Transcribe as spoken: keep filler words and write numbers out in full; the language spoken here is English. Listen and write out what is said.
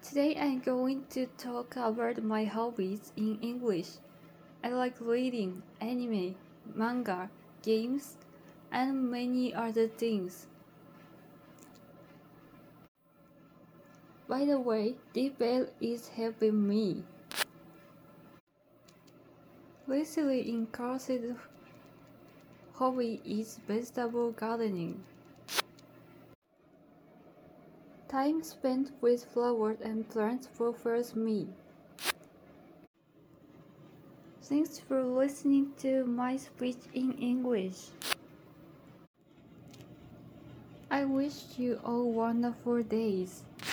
Today I'm going to talk about my hobbies in English. I like reading, anime, manga, games, and many other things. By the way, this bell is helping me. Recently increased hobby is vegetable gardening. Time spent with flowers and plants fulfills me. Thanks for listening to my speech in English. I wish you all wonderful days.